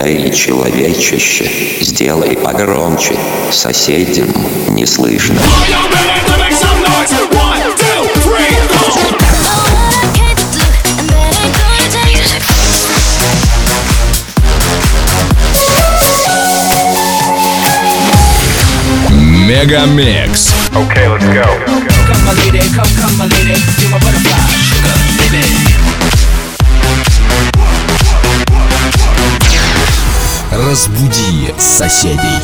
Эй, человечище, сделай погромче, соседям не слышно. Мегамикс. Okay, let's go. Come my lady, come my lady, you're my butterfly, sugar, baby. Разбуди соседей.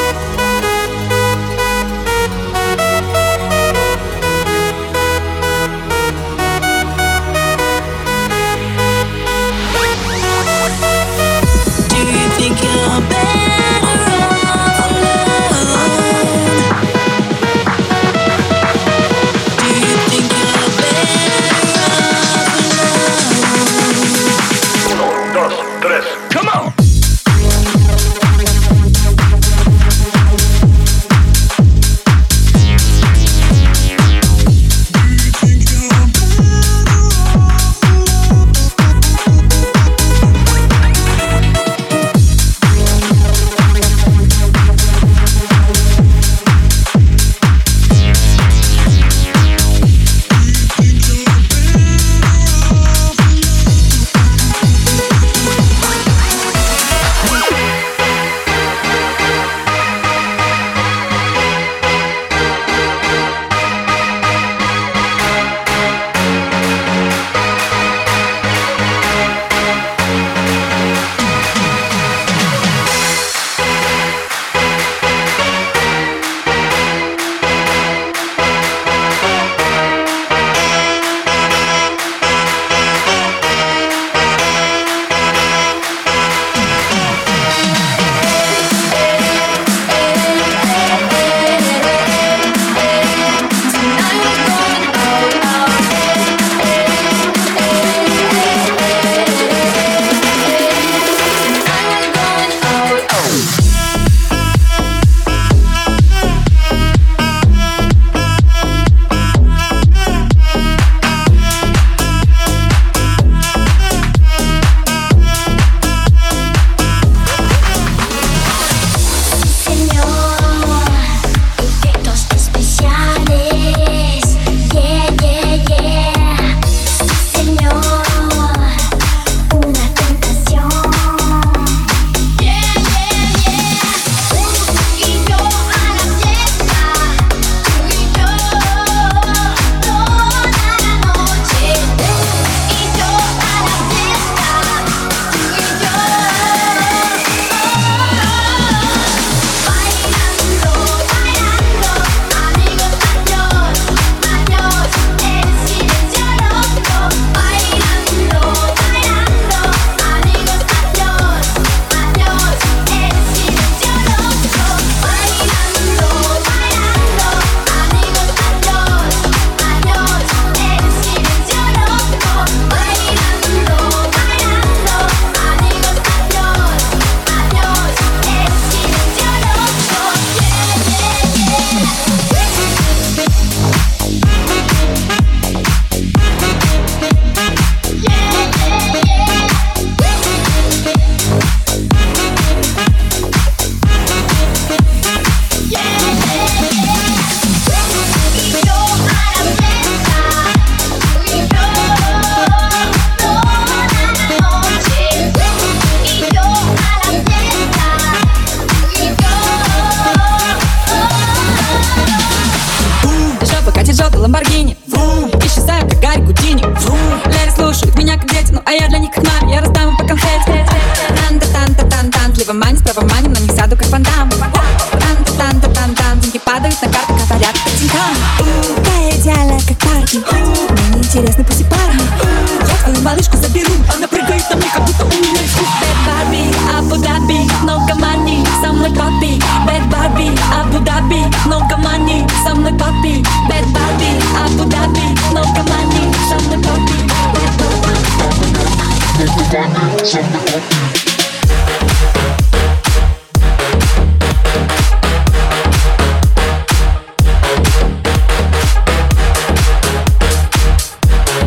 Ламборгини, исчезаю, как Гарри Гудини. Лэри слушают меня, как дети, ну а я для них как маме. Я раздам им по конфете. Тан-та-тан-та-тан-тан, слева манит, справа манит, на них сяду, как фонтан. Тан-та-тан-та-тан-тан, деньги падают на карту, говорят, как тинькан. Такая идеальная, как парки. Мне неинтересны пусть и парни. Я твою малышку заберу, она прыгает на мне, как будто у нее есть вкус. Bad Barbie, Абу-Даби, много money, со мной папи. Bad Barbie, Абу-Даби, много money, со мной папи. Bad Barbie, Абу-Даби, много money, со мной папи.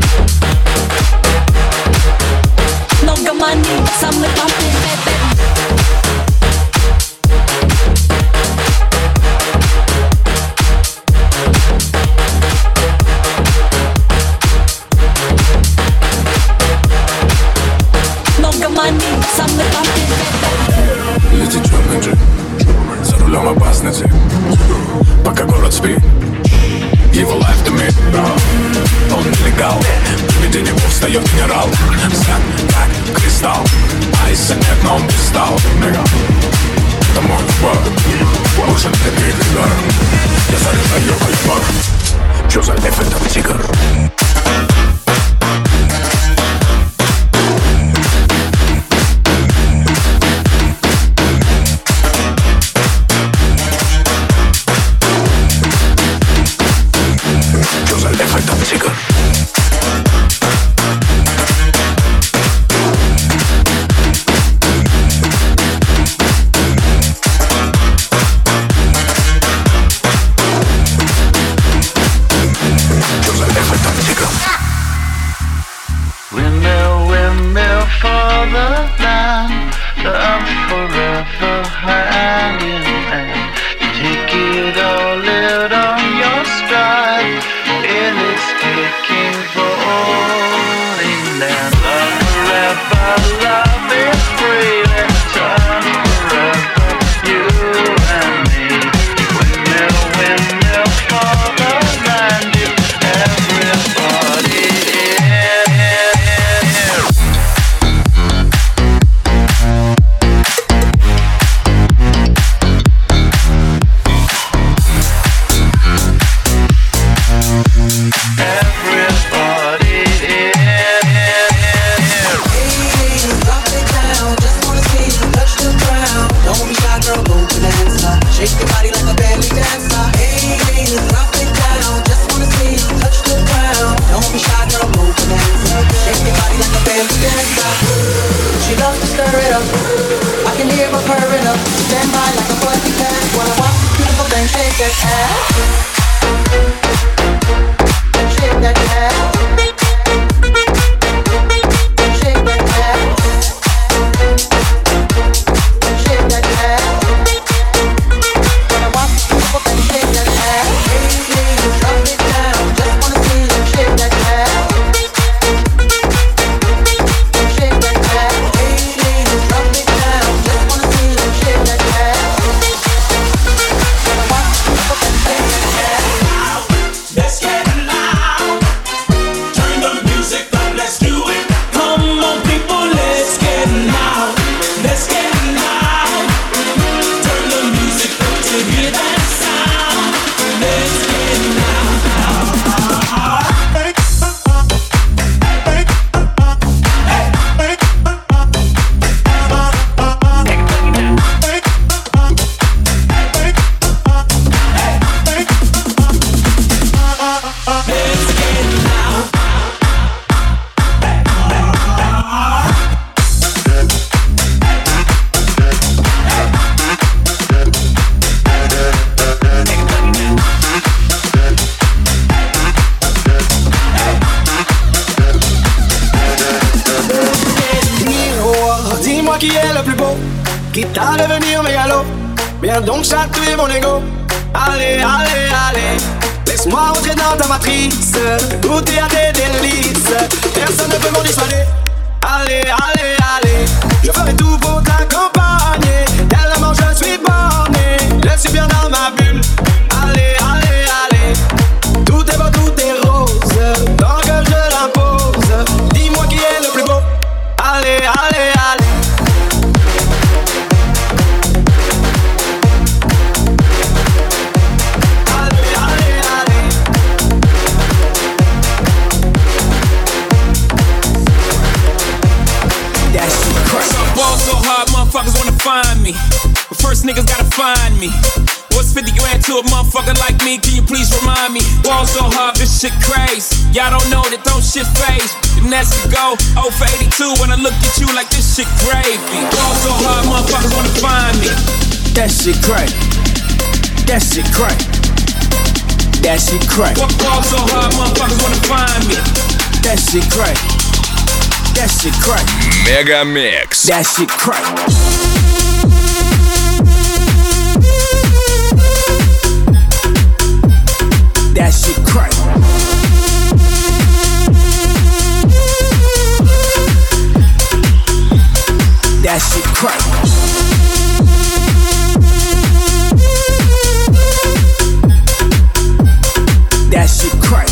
Много money, со мной папи. Ciao, nega. Estamos en spot. Vos en tequila. Ya sabes, ahí yo voy a pagar. Yo soy de frente a mi cigarro. Donc chatouiller mon ego. Allez, allez, allez. Laisse-moi entrer dans ta matrice, goûter à tes délices. Personne ne peut m'en dissuader. Allez, allez, allez. Je ferai tout pour t'accompagner. Tellement je suis borné, je suis bien dans ma bulle. Allez, allez, allez. Tout est beau, tout est rose, tant que je l'impose. Dis-moi qui est le plus beau. Allez, allez, allez. So hard, motherfuckers wanna find me. But first niggas gotta find me. What's 50 grand to a motherfucker like me? Can you please remind me? Ball so hard, this shit crazy. Y'all don't know that don't shit phase. And that's to go 0 for 82 when I look at you like this shit gravy. Ball so hard, motherfuckers wanna find me. That shit crazy. That shit crazy. That shit crazy. Ball so hard, motherfuckers wanna find me. That shit crazy. That shit crack. Мегамикс. That shit crack. That shit crack. That shit crack. That shit crack.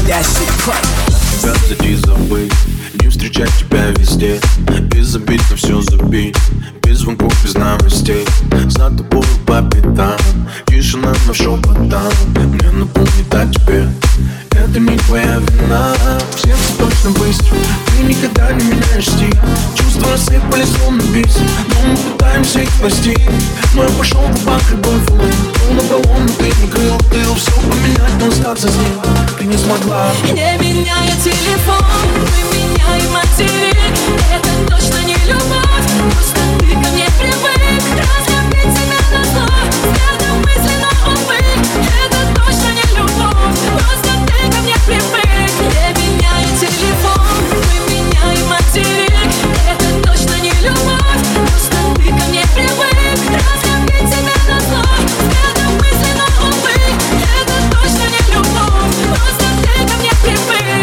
that shit crack. Тебя взять и забыть, не встречать тебя везде. Без обид на все забить, без звонков, без новостей. За тобой по пятам, тишина на шепотам. Мне напомнит о тебе, это не твоя вина. В сердце точно быстро, ты никогда не меняешь стиль. Чувства рассыпались словно бис, но мы пытаемся их спасти. Но я пошел в банк, любой фулы. Был на баллон, но ты не крыл. Ты все поменять, но остаться с ним ты не смогла. Не меняя телефон, мы меняем материк. Это точно не любовь, просто ты ко мне привык. Разлюбить тебя на зло, взглядом мысленно, увы. Это точно не любовь, просто ты ко мне привык. Не меняя телефон, мы меняем материк. Это точно не любовь, просто ты ко мне привык. Разлюбить тебя на зло, взглядом мысленно, увы. Это точно не любовь, просто ты ко мне привык.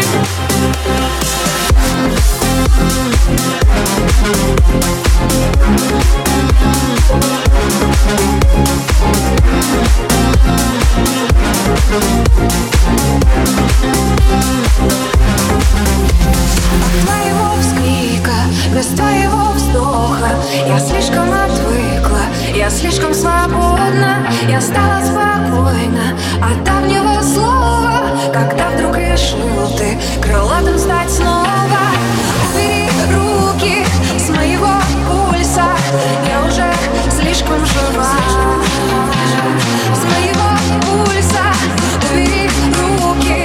Твоего вскрика, без твоего вздоха я слишком отвыкла, я слишком свободна. Я стала спокойна от давнего слова, когда вдруг решил ты крылатым стать снова. Убери руки с моего пульса, я уже слишком жива. С моего пульса убери руки.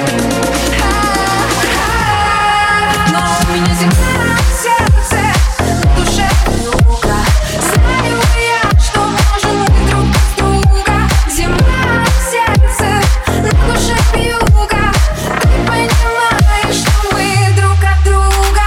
Но у меня земля в сердце, на душе юга. Знаю я, что можем быть друг без друга. Земля в сердце, на душе юга. Ты понимаешь, что мы друг от друга.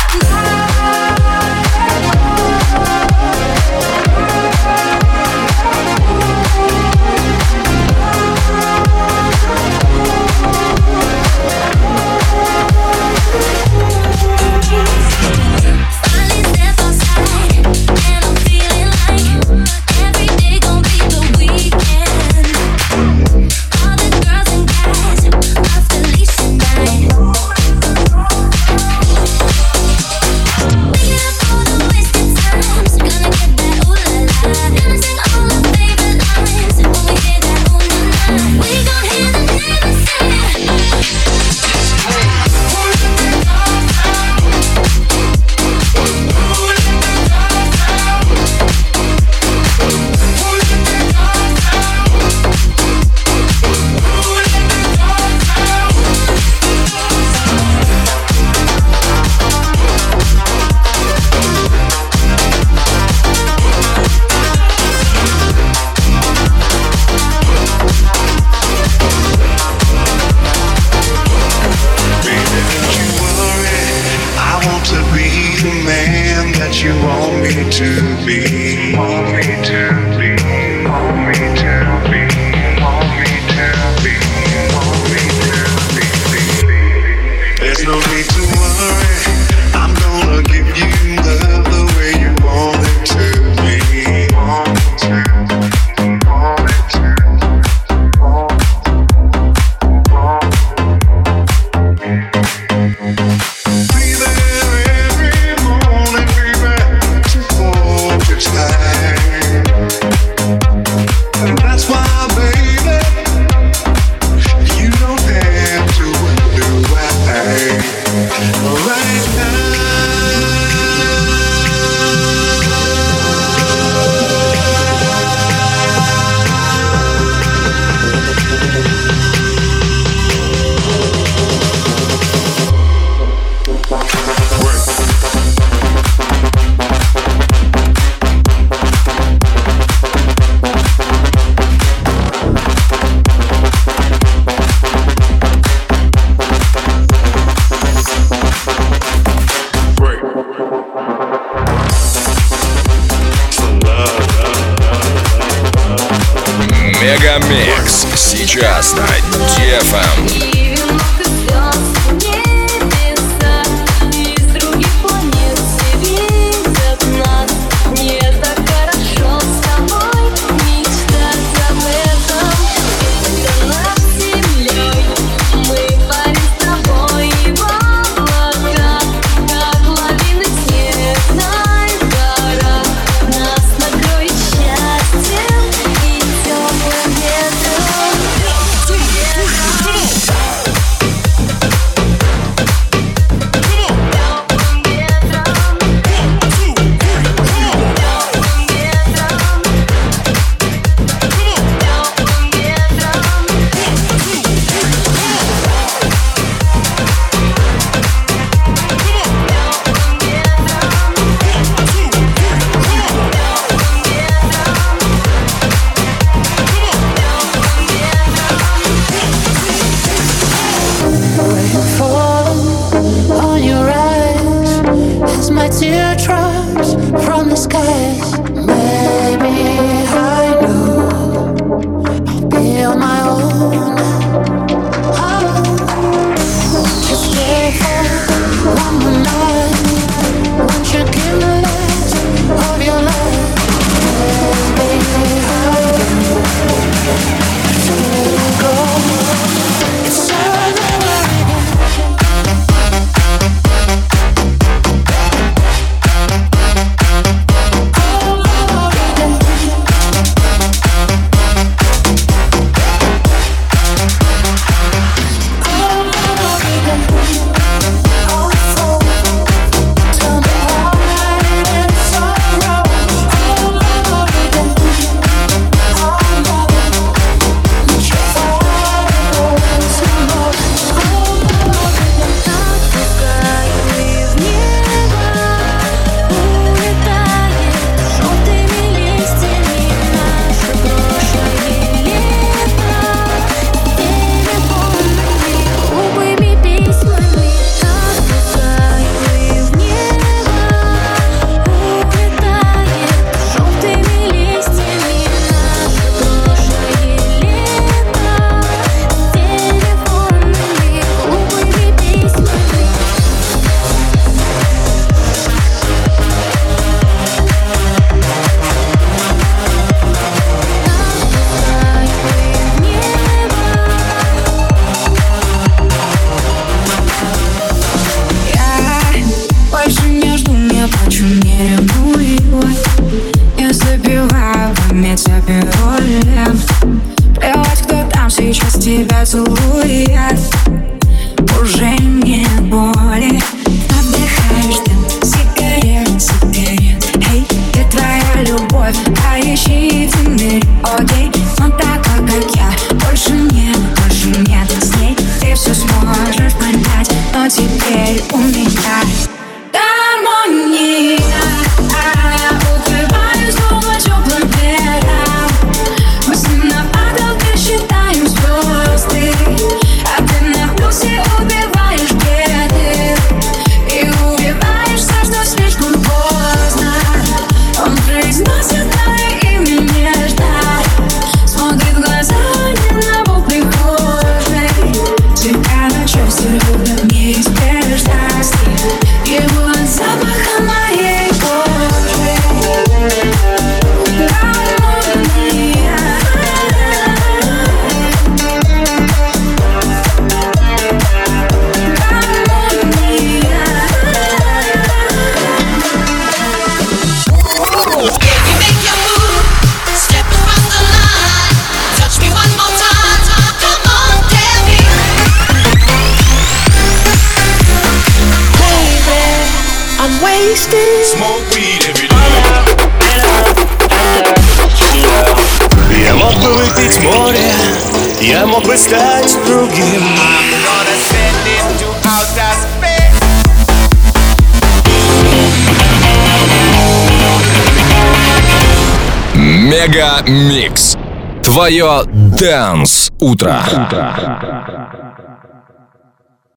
Мегамикс сейчас на DFM. Мы но теперь у меня гармония. Я укрываюсь дома теплым пледом. Мы с ним на потолке считаем звезды, а ты на вкусе убиваешь беды и убиваешься, что слишком поздно. Он произносит мое имя нежно, смотрит в глаза не на пол прихожей. Тебя на части рвут неизбежности, его от запаха моей кожи. Гармония. Smoke weed every day. Я мог бы выпить море, я мог бы стать другим. Мега Микс. Твое Dance утро.